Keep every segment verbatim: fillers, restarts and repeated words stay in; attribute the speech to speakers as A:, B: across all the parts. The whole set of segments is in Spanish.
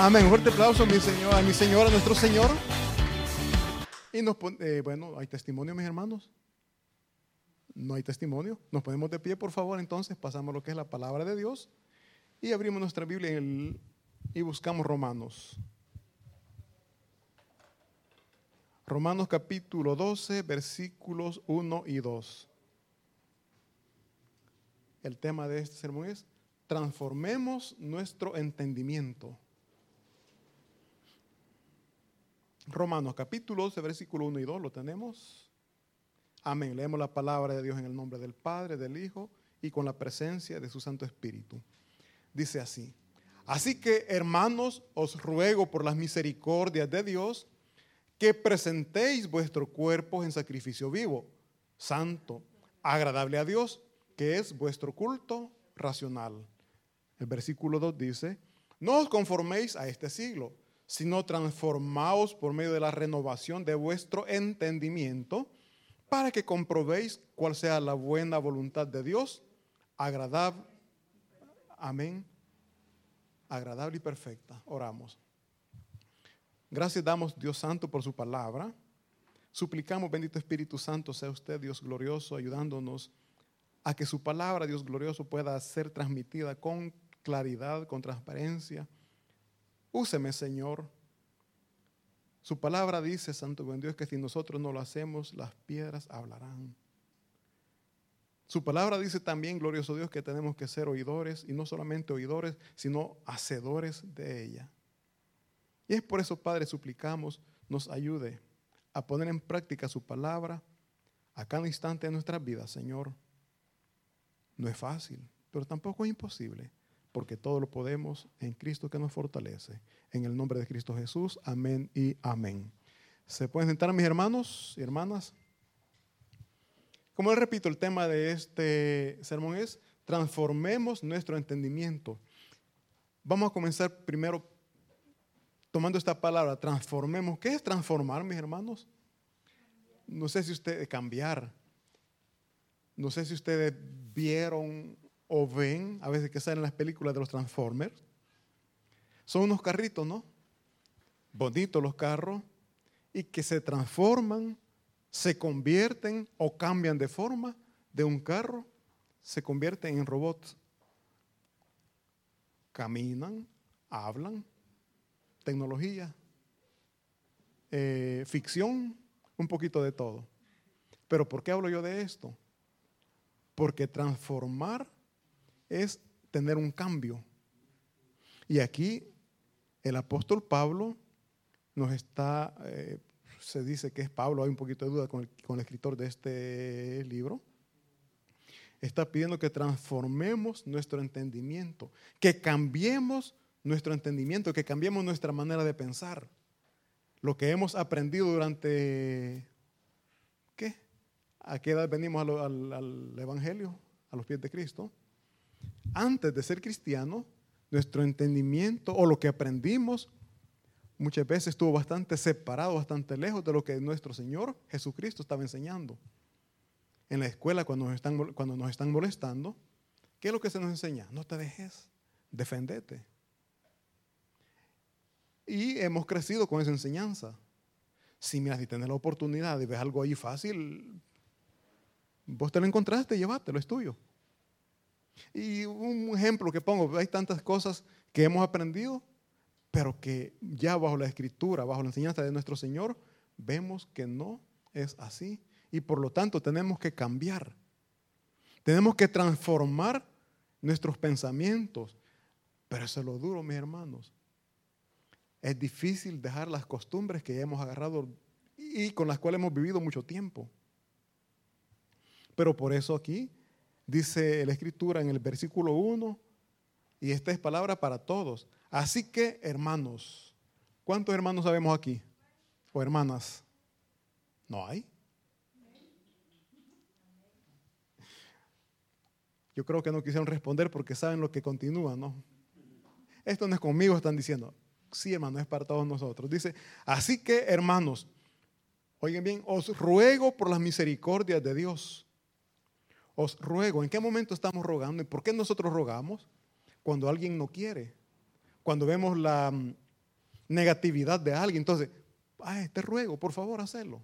A: Amén. Un fuerte aplauso a mi Señor, a mi Señor, a nuestro Señor. Y nos pon- eh, bueno, ¿hay testimonio, mis hermanos? No hay testimonio. Nos ponemos de pie, por favor. Entonces pasamos a lo que es la palabra de Dios y abrimos nuestra Biblia en el- y buscamos Romanos. Romanos capítulo doce, versículos uno y dos. El tema de este sermón es: transformemos nuestro entendimiento. Romanos capítulo doce, versículo uno y dos, ¿lo tenemos? Amén. Leemos la palabra de Dios en el nombre del Padre, del Hijo y con la presencia de su Santo Espíritu. Dice así: así que, hermanos, os ruego por las misericordias de Dios que presentéis vuestro cuerpo en sacrificio vivo, santo, agradable a Dios, que es vuestro culto racional. El versículo dos dice: no os conforméis a este siglo, sino transformaos por medio de la renovación de vuestro entendimiento, para que comprobéis cuál sea la buena voluntad de Dios, agradable, amén, agradable y perfecta. Oramos. Gracias damos, Dios Santo, por su palabra. Suplicamos, bendito Espíritu Santo, sea usted, Dios glorioso, ayudándonos a que su palabra, Dios glorioso, pueda ser transmitida con claridad, con transparencia. Úseme, Señor. Su palabra dice, Santo buen Dios, que si nosotros no lo hacemos, las piedras hablarán. Su palabra dice también, glorioso Dios, que tenemos que ser oidores, y no solamente oidores, sino hacedores de ella. Y es por eso, Padre, suplicamos, nos ayude a poner en práctica su palabra a cada instante de nuestras vidas, Señor. No es fácil, pero tampoco es imposible, porque todo lo podemos en Cristo que nos fortalece. En el nombre de Cristo Jesús, amén y amén. ¿Se pueden sentar, mis hermanos y hermanas? Como les repito, el tema de este sermón es: transformemos nuestro entendimiento. Vamos a comenzar primero tomando esta palabra, transformemos. ¿Qué es transformar, mis hermanos? No sé si ustedes, cambiar. No sé si ustedes vieron o ven, a veces que salen las películas de los Transformers. Son unos carritos, ¿no? Bonitos los carros, y que se transforman, se convierten o cambian de forma de un carro, se convierten en robots. Caminan, hablan, tecnología, eh, ficción, un poquito de todo. Pero ¿por qué hablo yo de esto? Porque transformar es tener un cambio. Y aquí el apóstol Pablo nos está, eh, se dice que es Pablo, hay un poquito de duda con el, con el escritor de este libro. Está pidiendo que transformemos nuestro entendimiento, que cambiemos nuestro entendimiento, que cambiemos nuestra manera de pensar. Lo que hemos aprendido durante, ¿qué? ¿A qué edad venimos al, al, al Evangelio? A los pies de Cristo. Antes de ser cristiano, nuestro entendimiento o lo que aprendimos muchas veces estuvo bastante separado, bastante lejos de lo que nuestro Señor Jesucristo estaba enseñando. En la escuela, cuando nos están, cuando nos están molestando, ¿qué es lo que se nos enseña? No te dejes, defendete. Y hemos crecido con esa enseñanza. Si mira, si tienes la oportunidad de ver algo ahí fácil, vos te lo encontraste, llévatelo, es tuyo. Y un ejemplo que pongo, hay tantas cosas que hemos aprendido, pero que ya bajo la escritura, bajo la enseñanza de nuestro Señor, vemos que no es así. Y por lo tanto tenemos que cambiar. Tenemos que transformar nuestros pensamientos. Pero eso es lo duro, mis hermanos. Es difícil dejar las costumbres que hemos agarrado y con las cuales hemos vivido mucho tiempo. Pero por eso aquí dice la Escritura en el versículo uno, y esta es palabra para todos. Así que, hermanos, ¿cuántos hermanos sabemos aquí? ¿O hermanas? ¿No hay? Yo creo que no quisieron responder porque saben lo que continúa, ¿no? Esto no es conmigo, están diciendo. Sí, hermano, es para todos nosotros. Dice, así que, hermanos, oigan bien, os ruego por las misericordias de Dios. Os ruego. ¿En qué momento estamos rogando? ¿Y por qué nosotros rogamos? Cuando alguien no quiere. Cuando vemos la, negatividad de alguien. Entonces, ay, te ruego, por favor, hazlo.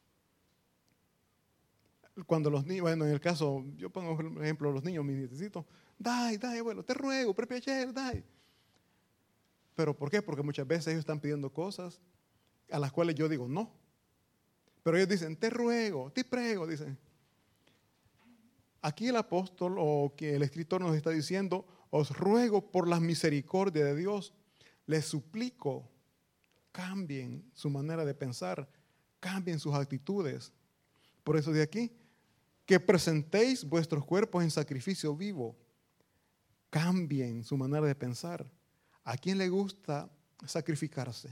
A: Cuando los niños, bueno, en el caso, yo pongo por ejemplo los niños, mis nietecitos, dai, dai, abuelo, te ruego, per piacere, dai. ¿Pero por qué? Porque muchas veces ellos están pidiendo cosas a las cuales yo digo no. Pero ellos dicen, te ruego, te prego, dicen. Aquí el apóstol o que el escritor nos está diciendo, os ruego por la misericordia de Dios, les suplico, cambien su manera de pensar, cambien sus actitudes. Por eso de aquí, que presentéis vuestros cuerpos en sacrificio vivo, cambien su manera de pensar. ¿A quién le gusta sacrificarse?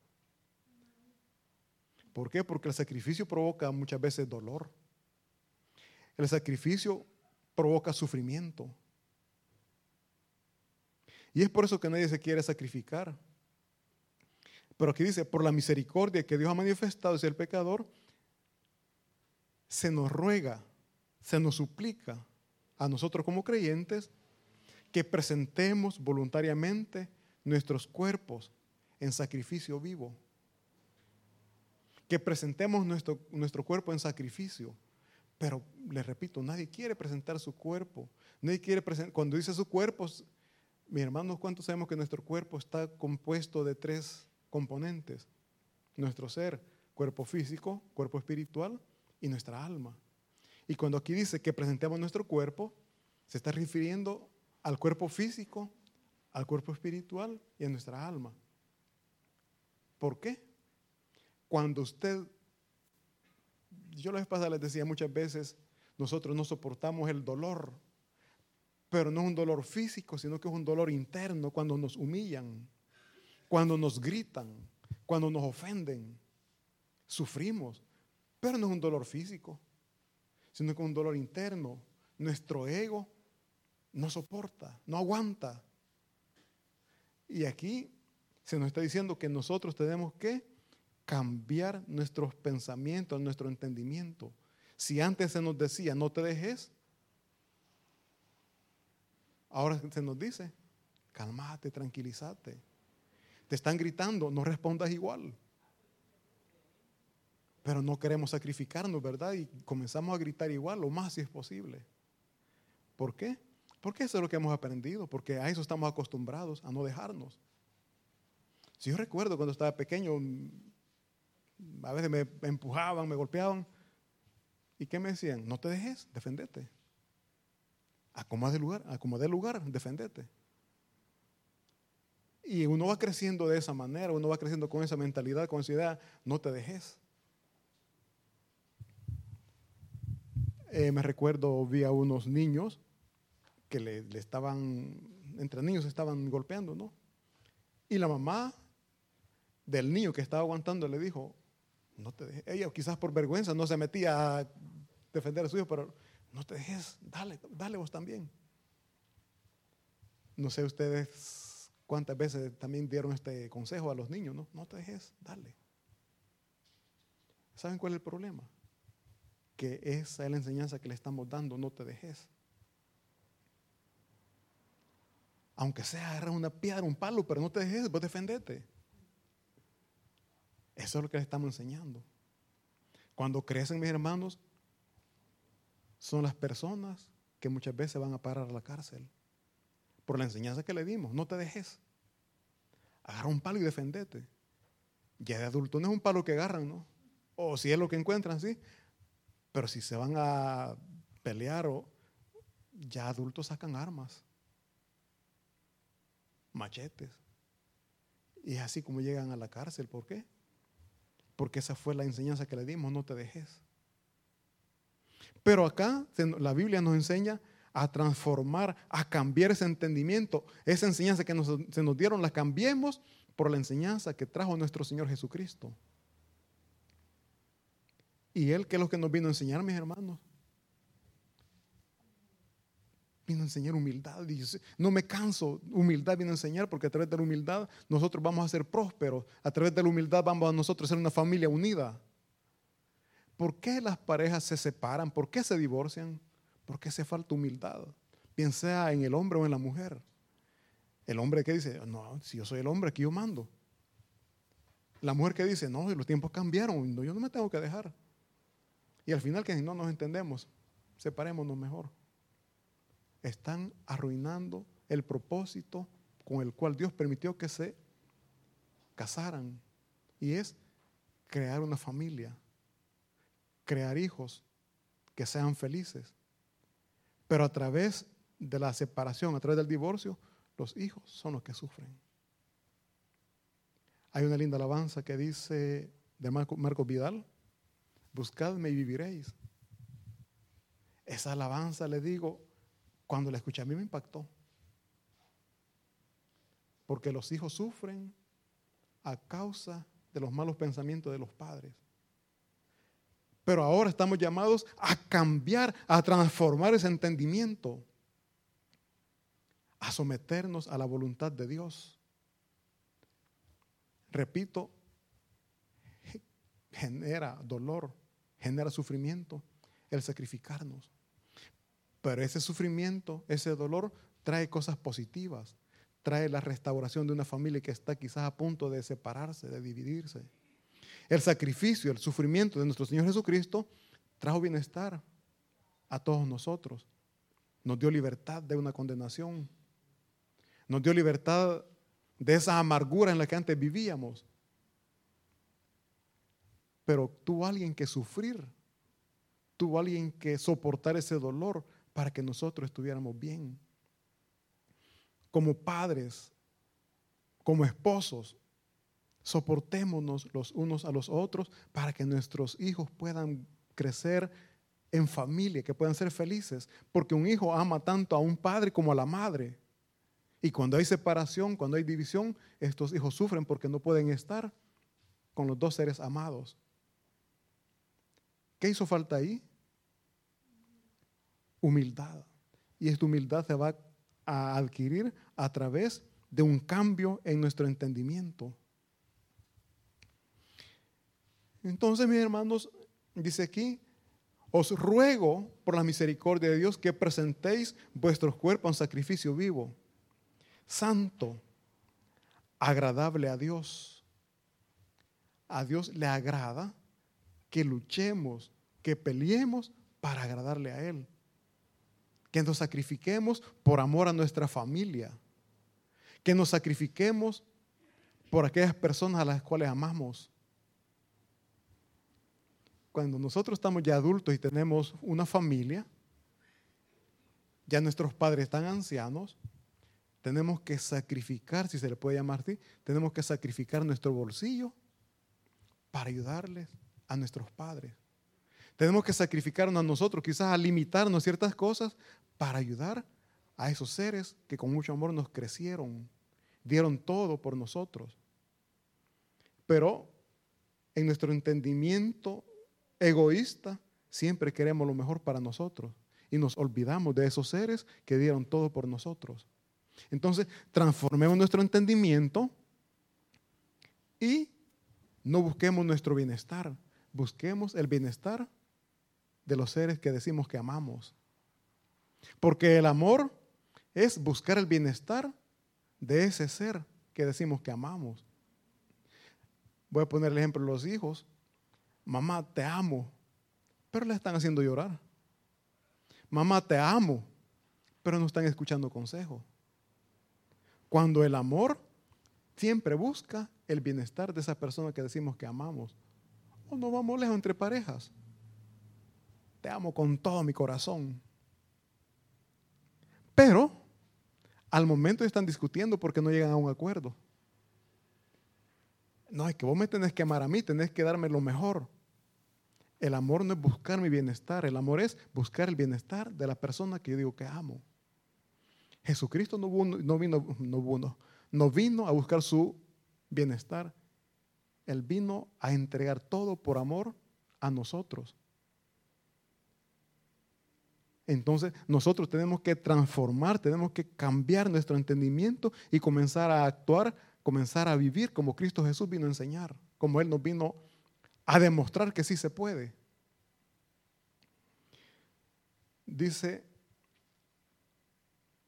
A: ¿Por qué? Porque el sacrificio provoca muchas veces dolor. El sacrificio provoca sufrimiento. Y es por eso que nadie se quiere sacrificar. Pero aquí dice, por la misericordia que Dios ha manifestado hacia el pecador, se nos ruega, se nos suplica a nosotros como creyentes que presentemos voluntariamente nuestros cuerpos en sacrificio vivo. Que presentemos nuestro, nuestro cuerpo en sacrificio. Pero, les repito, nadie quiere presentar su cuerpo. Nadie quiere presentar, cuando dice su cuerpo, mis hermanos, ¿cuántos sabemos que nuestro cuerpo está compuesto de tres componentes? Nuestro ser, cuerpo físico, cuerpo espiritual y nuestra alma. Y cuando aquí dice que presentemos nuestro cuerpo, se está refiriendo al cuerpo físico, al cuerpo espiritual y a nuestra alma. ¿Por qué? Cuando usted, yo la vez pasada les decía muchas veces, nosotros no soportamos el dolor, pero no es un dolor físico, sino que es un dolor interno cuando nos humillan, cuando nos gritan, cuando nos ofenden. Sufrimos, pero no es un dolor físico, sino que es un dolor interno. Nuestro ego no soporta, no aguanta. Y aquí se nos está diciendo que nosotros tenemos que cambiar nuestros pensamientos, nuestro entendimiento. Si antes se nos decía, no te dejes, ahora se nos dice, cálmate, tranquilízate. Te están gritando, no respondas igual. Pero no queremos sacrificarnos, ¿verdad? Y comenzamos a gritar igual, o más si es posible. ¿Por qué? Porque eso es lo que hemos aprendido, porque a eso estamos acostumbrados, a no dejarnos. Si yo recuerdo cuando estaba pequeño, a veces me empujaban, me golpeaban. ¿Y qué me decían? No te dejes, defendete. Acomoda el lugar, acomoda el lugar, defendete. Y uno va creciendo de esa manera, uno va creciendo con esa mentalidad, con esa idea, no te dejes. Eh, me recuerdo, vi a unos niños que le, le estaban, entre niños estaban golpeando, ¿no? Y la mamá del niño que estaba aguantando le dijo, no te dejes. Ella quizás por vergüenza no se metía a defender a su hijo, pero no te dejes, dale, dale vos también. No sé ustedes cuántas veces también dieron este consejo a los niños, ¿no? No te dejes, dale. ¿Saben cuál es el problema? Que esa es la enseñanza que le estamos dando, no te dejes. Aunque sea agarrar una piedra, un palo, pero no te dejes, vos defendete. Eso es lo que le estamos enseñando. Cuando crecen, mis hermanos, son las personas que muchas veces van a parar a la cárcel por la enseñanza que le dimos. No te dejes. Agarra un palo y defendete. Ya de adulto no es un palo que agarran, ¿no? O si es lo que encuentran, sí. Pero si se van a pelear, o ya adultos sacan armas, machetes. Y es así como llegan a la cárcel. ¿Por qué? Porque esa fue la enseñanza que le dimos, no te dejes. Pero acá la Biblia nos enseña a transformar, a cambiar ese entendimiento. Esa enseñanza que nos, se nos dieron, la cambiemos por la enseñanza que trajo nuestro Señor Jesucristo. ¿Y Él qué es lo que nos vino a enseñar, mis hermanos? Vino a enseñar humildad. Dice, no me canso, humildad vino a enseñar, porque a través de la humildad nosotros vamos a ser prósperos. A través de la humildad vamos a nosotros a ser una familia unida. ¿Por qué las parejas se separan? ¿Por qué se divorcian? Porque hace falta humildad, bien sea en el hombre o en la mujer. El hombre que dice, no, si yo soy el hombre, aquí yo mando. La mujer que dice, no, los tiempos cambiaron, no, yo no me tengo que dejar. Y al final que si no nos entendemos, separémonos mejor. Están arruinando el propósito con el cual Dios permitió que se casaran. Y es crear una familia, crear hijos que sean felices. Pero a través de la separación, a través del divorcio, los hijos son los que sufren. Hay una linda alabanza que dice de Marco, Marcos Vidal, buscadme y viviréis. Esa alabanza, le digo, cuando la escuché a mí me impactó. Porque los hijos sufren a causa de los malos pensamientos de los padres. Pero ahora estamos llamados a cambiar, a transformar ese entendimiento, a someternos a la voluntad de Dios. Repito, genera dolor, genera sufrimiento el sacrificarnos. Pero ese sufrimiento, ese dolor trae cosas positivas, trae la restauración de una familia que está quizás a punto de separarse, de dividirse. El sacrificio, el sufrimiento de nuestro Señor Jesucristo trajo bienestar a todos nosotros. Nos dio libertad de una condenación. Nos dio libertad de esa amargura en la que antes vivíamos. Pero tuvo alguien que sufrir, tuvo alguien que soportar ese dolor para que nosotros estuviéramos bien. Como padres, como esposos, soportémonos los unos a los otros para que nuestros hijos puedan crecer en familia, que puedan ser felices, porque un hijo ama tanto a un padre como a la madre. Y cuando hay separación, cuando hay división, estos hijos sufren porque no pueden estar con los dos seres amados. ¿Qué hizo falta ahí? Humildad. Y esta humildad se va a adquirir a través de un cambio en nuestro entendimiento. Entonces, mis hermanos, dice aquí, os ruego por la misericordia de Dios que presentéis vuestros cuerpos en sacrificio vivo, santo, agradable a Dios. A Dios le agrada que luchemos, que peleemos para agradarle a Él. Que nos sacrifiquemos por amor a nuestra familia. Que nos sacrifiquemos por aquellas personas a las cuales amamos. Cuando nosotros estamos ya adultos y tenemos una familia, ya nuestros padres están ancianos, tenemos que sacrificar, si se le puede llamar así, tenemos que sacrificar nuestro bolsillo para ayudarles a nuestros padres. Tenemos que sacrificarnos a nosotros, quizás a limitarnos ciertas cosas para ayudar a esos seres que con mucho amor nos crecieron, dieron todo por nosotros. Pero en nuestro entendimiento egoísta, siempre queremos lo mejor para nosotros y nos olvidamos de esos seres que dieron todo por nosotros. Entonces, transformemos nuestro entendimiento y no busquemos nuestro bienestar, busquemos el bienestar de los seres que decimos que amamos. Porque el amor es buscar el bienestar de ese ser que decimos que amamos. Voy a poner el ejemplo de los hijos. Mamá, te amo, pero le están haciendo llorar. Mamá, te amo, pero no están escuchando consejos. Cuando el amor siempre busca el bienestar de esa persona que decimos que amamos. O no vamos lejos entre parejas. Te amo con todo mi corazón. Pero al momento están discutiendo porque no llegan a un acuerdo. No, es que vos me tenés que amar a mí, tenés que darme lo mejor. El amor no es buscar mi bienestar, el amor es buscar el bienestar de la persona que yo digo que amo. Jesucristo no vino, no vino, no vino, no vino a buscar su bienestar. Él vino a entregar todo por amor a nosotros. Entonces nosotros tenemos que transformar, tenemos que cambiar nuestro entendimiento y comenzar a actuar, comenzar a vivir como Cristo Jesús vino a enseñar, como Él nos vino a demostrar que sí se puede. Dice,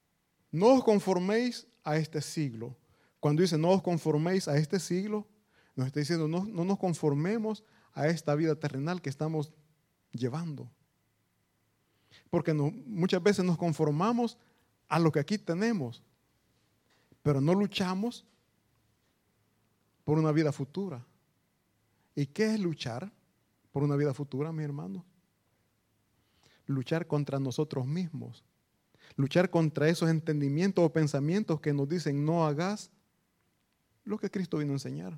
A: no os conforméis a este siglo. Cuando dice no os conforméis a este siglo, Nos está diciendo, no, no nos conformemos a esta vida terrenal que estamos llevando. Porque no, muchas veces nos conformamos a lo que aquí tenemos, pero no luchamos por una vida futura. ¿Y qué es luchar por una vida futura, mi hermano? Luchar contra nosotros mismos. Luchar contra esos entendimientos o pensamientos que nos dicen no hagas lo que Cristo vino a enseñar.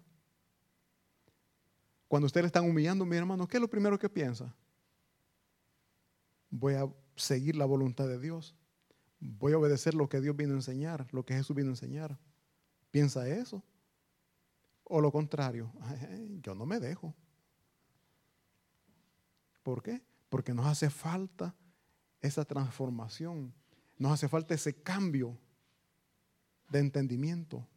A: Cuando usted le están humillando, mi hermano, ¿qué es lo primero que piensa? Voy a seguir la voluntad de Dios. Voy a obedecer lo que Dios vino a enseñar, lo que Jesús vino a enseñar. ¿Piensa eso? O lo contrario, yo no me dejo. ¿Por qué? Porque nos hace falta esa transformación, nos hace falta ese cambio de entendimiento.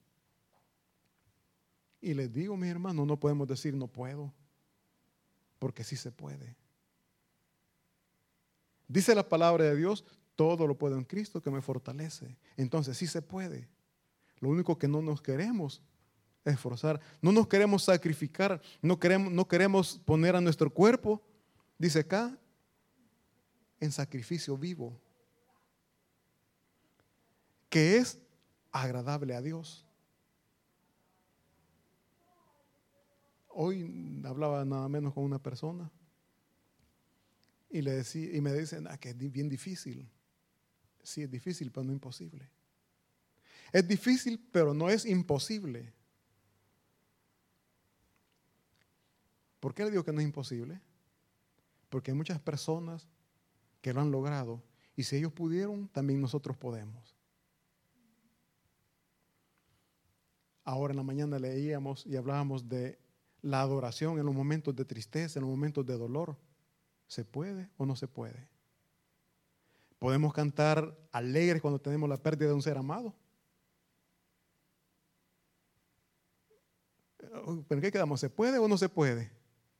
A: Y les digo, mis hermanos, no podemos decir no puedo, porque sí se puede. Dice la palabra de Dios, todo lo puedo en Cristo que me fortalece. Entonces sí se puede. Lo único que no nos queremos esforzar, no nos queremos sacrificar, no queremos, no queremos poner a nuestro cuerpo, dice acá, en sacrificio vivo, que es agradable a Dios. Hoy hablaba nada menos con una persona y, le decía, y me dicen ah, que es bien difícil. Sí, es difícil, pero no imposible. Es difícil, pero no es imposible. ¿Por qué le digo que no es imposible? Porque hay muchas personas que lo han logrado y si ellos pudieron, también nosotros podemos. Ahora en la mañana leíamos y hablábamos de la adoración en los momentos de tristeza, en los momentos de dolor. ¿Se puede o no se puede? ¿Podemos cantar alegres cuando tenemos la pérdida de un ser amado? ¿Pero en qué quedamos? ¿Se puede o no se puede?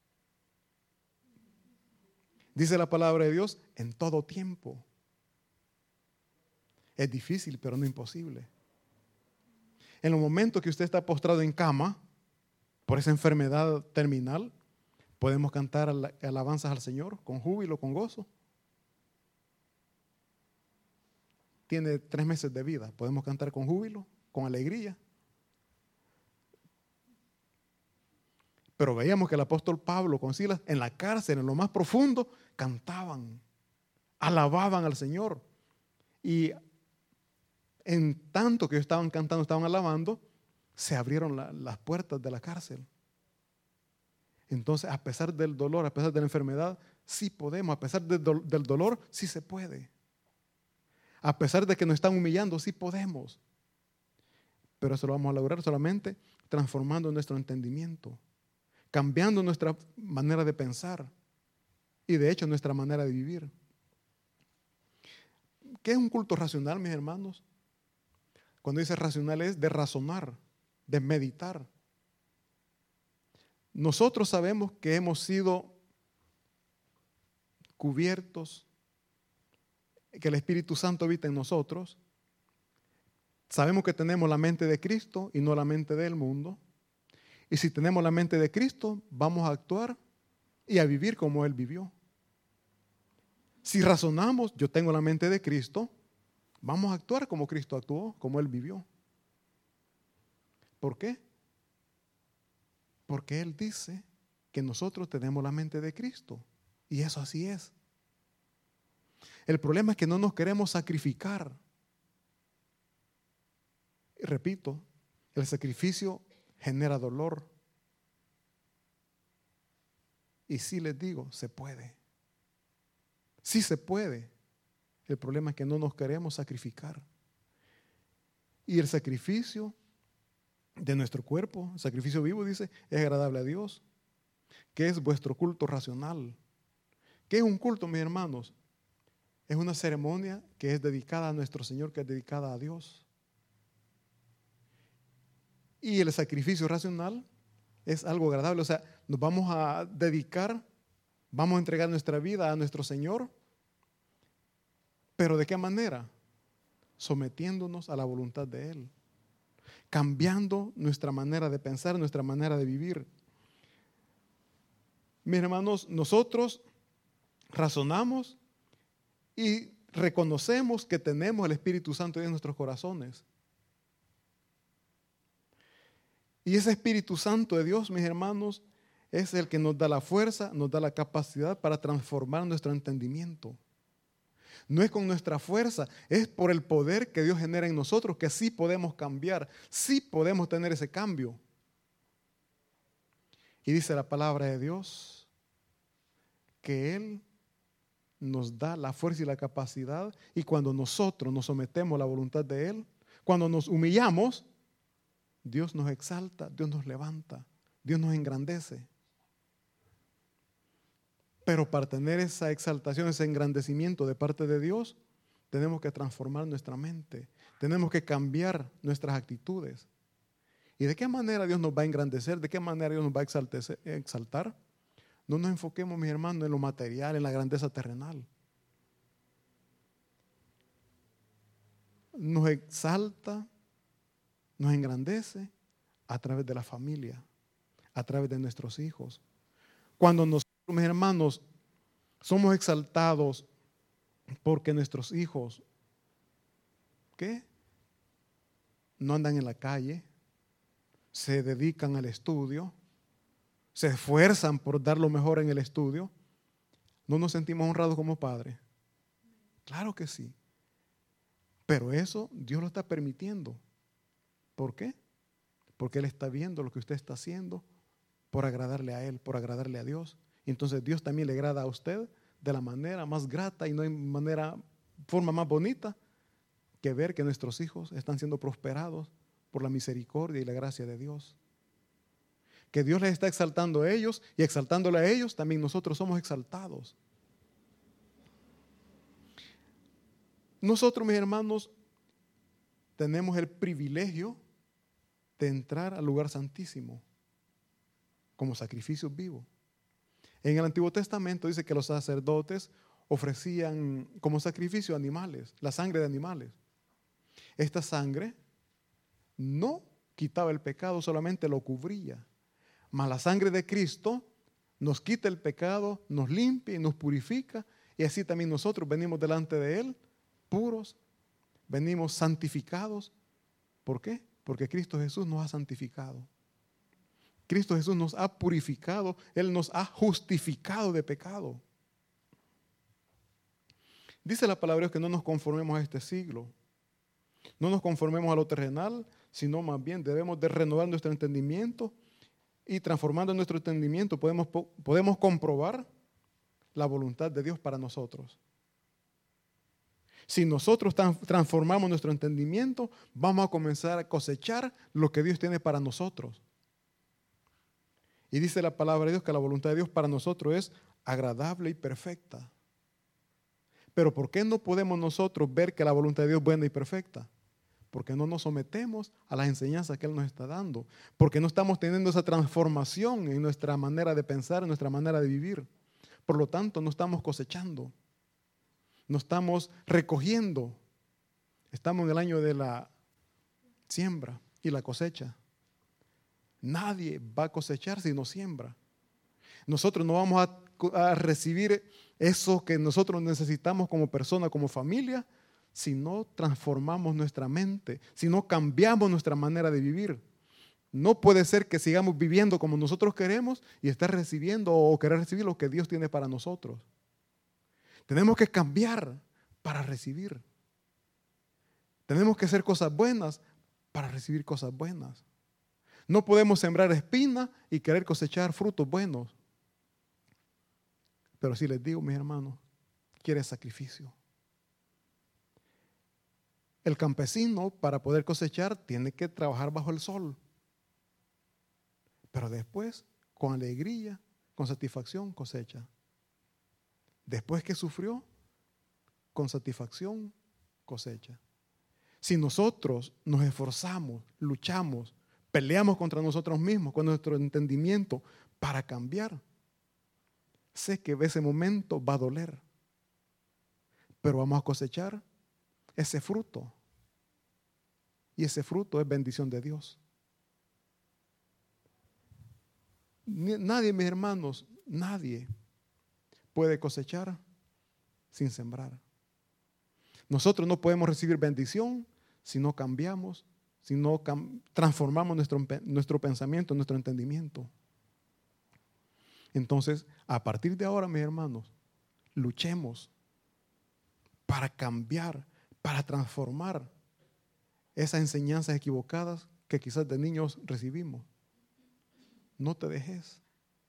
A: Dice la palabra de Dios, en todo tiempo. Es difícil, pero no imposible. En los momentos que usted está postrado en cama, por esa enfermedad terminal, podemos cantar alabanzas al Señor con júbilo, con gozo. Tiene tres meses de vida, podemos cantar con júbilo, con alegría. Pero veíamos que el apóstol Pablo con Silas en la cárcel, en lo más profundo, cantaban, alababan al Señor. Y en tanto que ellos estaban cantando, estaban alabando, se abrieron la, las puertas de la cárcel. Entonces, a pesar del dolor, a pesar de la enfermedad, sí podemos. A pesar de do, del dolor, sí se puede. A pesar de que nos están humillando, sí podemos. Pero eso lo vamos a lograr solamente transformando nuestro entendimiento, cambiando nuestra manera de pensar y de hecho nuestra manera de vivir. ¿Qué es un culto racional, mis hermanos? Cuando dice racional es de razonar, de meditar. Nosotros sabemos que hemos sido cubiertos, que el Espíritu Santo habita en nosotros. Sabemos que tenemos la mente de Cristo y no la mente del mundo. Y si tenemos la mente de Cristo, vamos a actuar y a vivir como Él vivió. Si razonamos, yo tengo la mente de Cristo, vamos a actuar como Cristo actuó, como Él vivió. ¿Por qué? Porque Él dice que nosotros tenemos la mente de Cristo. Y eso así es. El problema es que no nos queremos sacrificar. Y repito, el sacrificio genera dolor. Y sí les digo, se puede. Sí se puede. El problema es que no nos queremos sacrificar. Y el sacrificio de nuestro cuerpo, el sacrificio vivo, dice, es agradable a Dios. ¿Qué es vuestro culto racional? ¿Qué es un culto, mis hermanos? Es una ceremonia que es dedicada a nuestro Señor, que es dedicada a Dios. Y el sacrificio racional es algo agradable. O sea, nos vamos a dedicar, vamos a entregar nuestra vida a nuestro Señor. ¿Pero de qué manera? Sometiéndonos a la voluntad de Él. cambiando nuestra manera de pensar, nuestra manera de vivir. Mis hermanos, nosotros razonamos y reconocemos que tenemos el Espíritu Santo en nuestros corazones. Y ese Espíritu Santo de Dios, mis hermanos, es el que nos da la fuerza, nos da la capacidad para transformar nuestro entendimiento. No es con nuestra fuerza, es por el poder que Dios genera en nosotros que sí podemos cambiar, sí podemos tener ese cambio. Y dice la palabra de Dios que Él nos da la fuerza y la capacidad, y cuando nosotros nos sometemos a la voluntad de Él, cuando nos humillamos, Dios nos exalta, Dios nos levanta, Dios nos engrandece. Pero para tener esa exaltación, ese engrandecimiento de parte de Dios, tenemos que transformar nuestra mente, tenemos que cambiar nuestras actitudes. ¿Y de qué manera Dios nos va a engrandecer? ¿De qué manera Dios nos va a exaltar? No nos enfoquemos, mis hermanos, en lo material, en la grandeza terrenal. Nos exalta, nos engrandece a través de la familia, a través de nuestros hijos. Cuando nosotros, mis hermanos, somos exaltados porque nuestros hijos, ¿qué? No andan en la calle, se dedican al estudio, se esfuerzan por dar lo mejor en el estudio, ¿no nos sentimos honrados como padres? Claro que sí. Pero eso Dios lo está permitiendo. ¿Por qué? Porque Él está viendo lo que usted está haciendo por agradarle a Él, por agradarle a Dios. Y entonces Dios también le agrada a usted de la manera más grata y no hay manera, forma más bonita que ver que nuestros hijos están siendo prosperados por la misericordia y la gracia de Dios. Que Dios les está exaltando a ellos y exaltándole a ellos, también nosotros somos exaltados. Nosotros, mis hermanos, tenemos el privilegio de entrar al lugar santísimo como sacrificios vivos. En el Antiguo Testamento dice que los sacerdotes ofrecían como sacrificio animales, la sangre de animales. Esta sangre no quitaba el pecado, solamente lo cubría. Mas la sangre de Cristo nos quita el pecado, nos limpia y nos purifica. Y así también nosotros venimos delante de Él puros, venimos santificados. ¿Por qué? Porque Cristo Jesús nos ha santificado. Cristo Jesús nos ha purificado, Él nos ha justificado de pecado. Dice la palabra de Dios que no nos conformemos a este siglo, no nos conformemos a lo terrenal, sino más bien debemos de renovar nuestro entendimiento y transformando nuestro entendimiento podemos, podemos comprobar la voluntad de Dios para nosotros. Si nosotros transformamos nuestro entendimiento, vamos a comenzar a cosechar lo que Dios tiene para nosotros. Y dice la palabra de Dios que la voluntad de Dios para nosotros es agradable y perfecta. Pero ¿por qué no podemos nosotros ver que la voluntad de Dios es buena y perfecta? Porque no nos sometemos a las enseñanzas que Él nos está dando. Porque no estamos teniendo esa transformación en nuestra manera de pensar, en nuestra manera de vivir. Por lo tanto, no estamos cosechando. No estamos recogiendo. Estamos en el año de la siembra y la cosecha. Nadie va a cosechar si no siembra. Nosotros no vamos a, a recibir eso que nosotros necesitamos como persona, como familia, si no transformamos nuestra mente, si no cambiamos nuestra manera de vivir. No puede ser que sigamos viviendo como nosotros queremos y estar recibiendo o querer recibir lo que Dios tiene para nosotros. Tenemos que cambiar para recibir. Tenemos que hacer cosas buenas para recibir cosas buenas. No podemos sembrar espina y querer cosechar frutos buenos. Pero si les digo, mis hermanos, quiere sacrificio. El campesino, para poder cosechar, tiene que trabajar bajo el sol. Pero después, con alegría, con satisfacción, cosecha. Después que sufrió, con satisfacción, cosecha. Si nosotros nos esforzamos, luchamos, peleamos contra nosotros mismos, con nuestro entendimiento, para cambiar, sé que ese momento va a doler, pero vamos a cosechar ese fruto. Y ese fruto es bendición de Dios. Nadie, mis hermanos, nadie puede cosechar sin sembrar. Nosotros no podemos recibir bendición si no cambiamos, si no cam- transformamos nuestro, nuestro pensamiento, nuestro entendimiento. Entonces, a partir de ahora, mis hermanos, luchemos para cambiar, para transformar esas enseñanzas equivocadas que quizás de niños recibimos. No te dejes.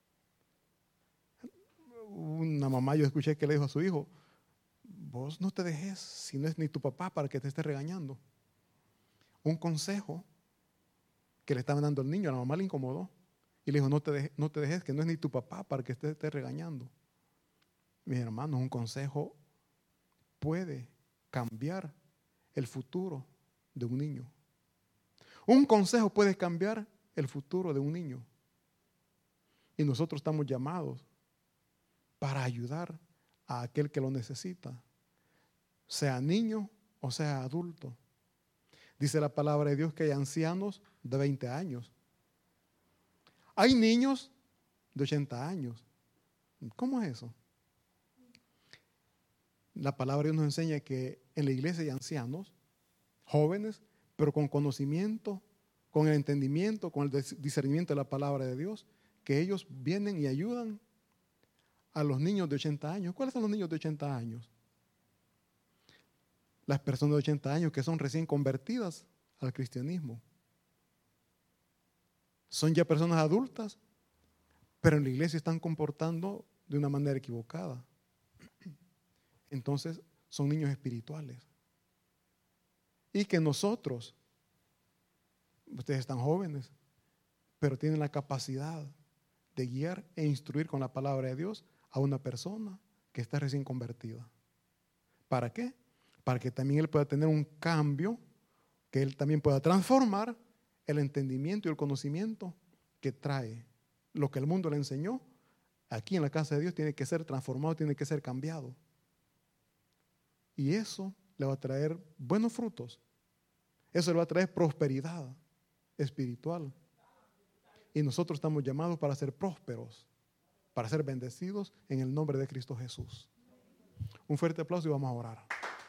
A: Una mamá, yo escuché que le dijo a su hijo: vos no te dejes si no es ni tu papá para que te esté regañando. Un consejo que le estaba dando al niño, a la mamá le incomodó. Y le dijo: no te dejes, no te dejes que no es ni tu papá para que te esté regañando. Mis hermanos, un consejo puede cambiar el futuro de un niño. Un consejo puede cambiar el futuro de un niño. Y nosotros estamos llamados para ayudar a aquel que lo necesita, sea niño o sea adulto. Dice la palabra de Dios que hay ancianos de veinte años. Hay niños de ochenta años. ¿Cómo es eso? La palabra de Dios nos enseña que en la iglesia hay ancianos, jóvenes, pero con conocimiento, con el entendimiento, con el discernimiento de la palabra de Dios, que ellos vienen y ayudan a los niños de ochenta años. ¿Cuáles son los niños de ochenta años? Las personas de ochenta años que son recién convertidas al cristianismo. Son ya personas adultas, pero en la iglesia están comportando de una manera equivocada. Entonces, son niños espirituales. Y que nosotros, ustedes están jóvenes, pero tienen la capacidad de guiar e instruir con la palabra de Dios a una persona que está recién convertida. ¿Para qué? Para que también él pueda tener un cambio, que él también pueda transformar el entendimiento y el conocimiento que trae. Lo que el mundo le enseñó, aquí en la casa de Dios tiene que ser transformado, tiene que ser cambiado. Y eso le va a traer buenos frutos. Eso le va a traer prosperidad espiritual. Y nosotros estamos llamados para ser prósperos, para ser bendecidos en el nombre de Cristo Jesús. Un fuerte aplauso y vamos a orar.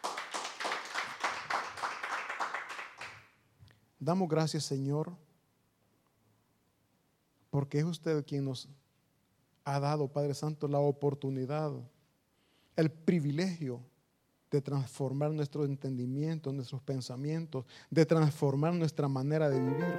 A: Damos gracias, Señor, porque es usted quien nos ha dado, Padre Santo, la oportunidad, el privilegio de transformar nuestro entendimiento, nuestros pensamientos, de transformar nuestra manera de vivir.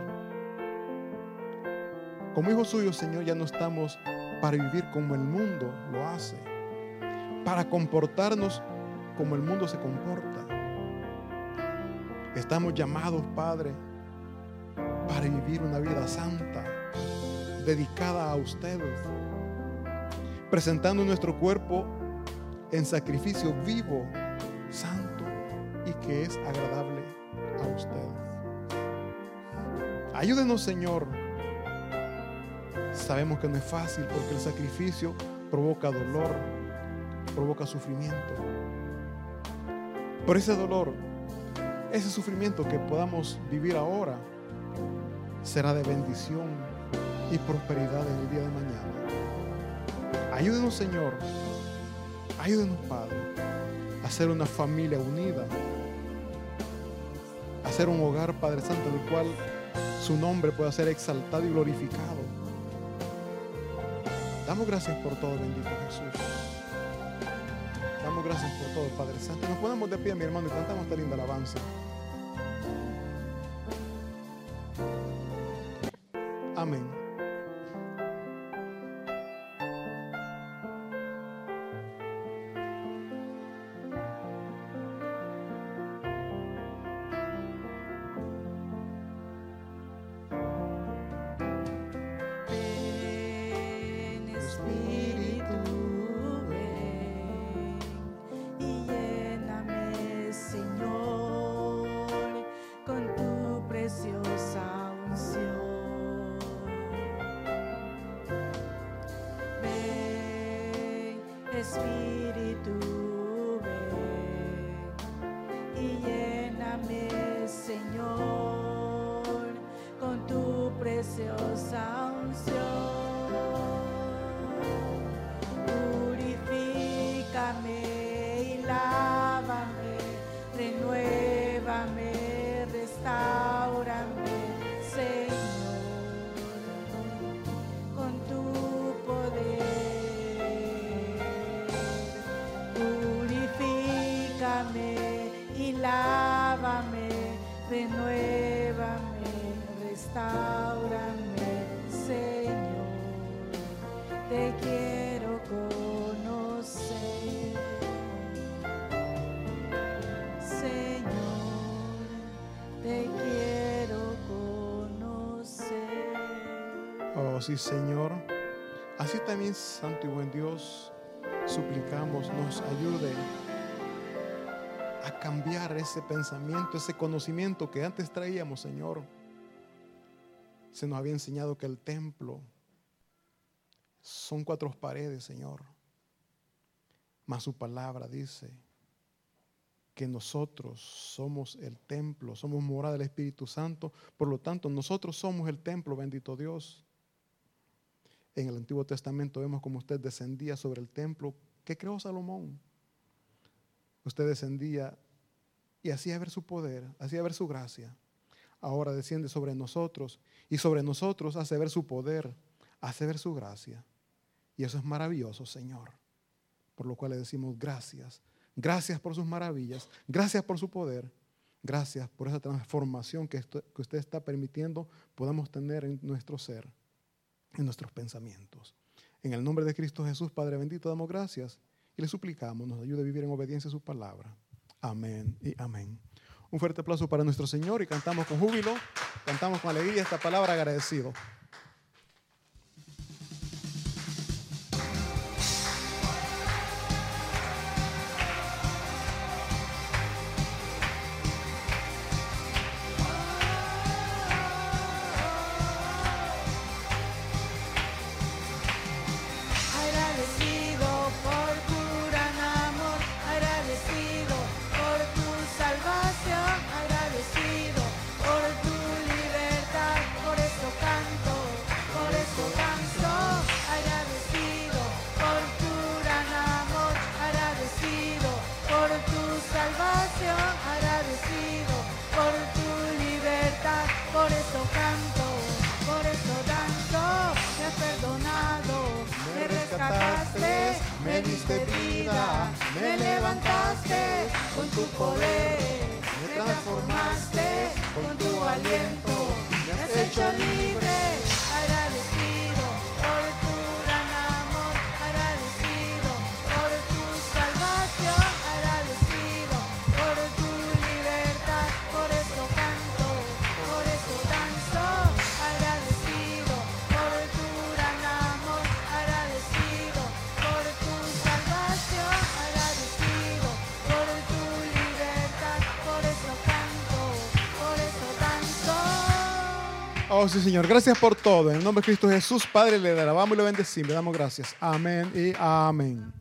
A: Como hijos suyos, Señor, ya no estamos para vivir como el mundo lo hace, para comportarnos como el mundo se comporta. Estamos llamados, Padre, para vivir una vida santa, dedicada a ustedes, presentando nuestro cuerpo en sacrificio vivo, santo y que es agradable a ustedes. Ayúdenos, Señor. Sabemos que no es fácil porque el sacrificio provoca dolor, provoca sufrimiento. Por ese dolor, ese sufrimiento que podamos vivir ahora será de bendición y prosperidad en el día de mañana. Ayúdenos, Señor. Ayúdenos, Padre, a ser una familia unida, a ser un hogar, Padre Santo, en el cual su nombre pueda ser exaltado y glorificado. Damos gracias por todo, bendito Jesús. Damos gracias por todo, Padre Santo. Nos ponemos de pie, mi hermano, y cantamos esta linda alabanza. Amén.
B: Espíritu, ven y lléname, Señor. preciosa unción. Purifícame y lávame, renuévame, restáurame, Señor, con tu poder. Purifícame y lávame, renuévame, restáurame, Señor, te quiero conocer, Señor, te quiero conocer.
A: Oh, sí, Señor. Así también, Santo y buen Dios, suplicamos nos ayude a cambiar ese pensamiento, ese conocimiento que antes traíamos, Señor. Se nos había enseñado que el templo son cuatro paredes, Señor. Mas su palabra dice que nosotros somos el templo, somos morada del Espíritu Santo. Por lo tanto, nosotros somos el templo, bendito Dios. En el Antiguo Testamento vemos como usted descendía sobre el templo que creó Salomón. Usted descendía y hacía ver su poder, hacía ver su gracia. Ahora desciende sobre nosotros y sobre nosotros hace ver su poder, hace ver su gracia. Y eso es maravilloso, Señor. Por lo cual le decimos gracias. Gracias por sus maravillas. Gracias por su poder. Gracias por esa transformación que, esto, que usted está permitiendo podamos tener en nuestro ser, en nuestros pensamientos. En el nombre de Cristo Jesús, Padre bendito, damos gracias y le suplicamos, nos ayude a vivir en obediencia a su palabra. Amén y amén. Un fuerte aplauso para nuestro Señor y cantamos con júbilo, cantamos con alegría esta palabra agradecido.
B: Agradecido por tu gran amor, agradecido por tu salvación, agradecido por tu libertad, por eso canto, por eso danzo. Agradecido por tu gran amor, agradecido por tu salvación, agradecido por tu libertad, por eso canto, por eso danzo. Me has perdonado, me rescataste, me diste vida, me levantaste con tu poder, me transformaste con tu aliento, me has hecho libre. Agradecido por tu gran amor, agradecido por tu salvación, agradecido por tu libertad, por eso canto, por eso danzo. Agradecido por tu gran amor, agradecido por tu salvación, agradecido por tu libertad, por eso canto, por eso danzo.
A: Oh, sí, Señor. Gracias por todo. En el nombre de Cristo Jesús, Padre, le alabamos y le bendecimos. Le damos gracias. Amén y amén.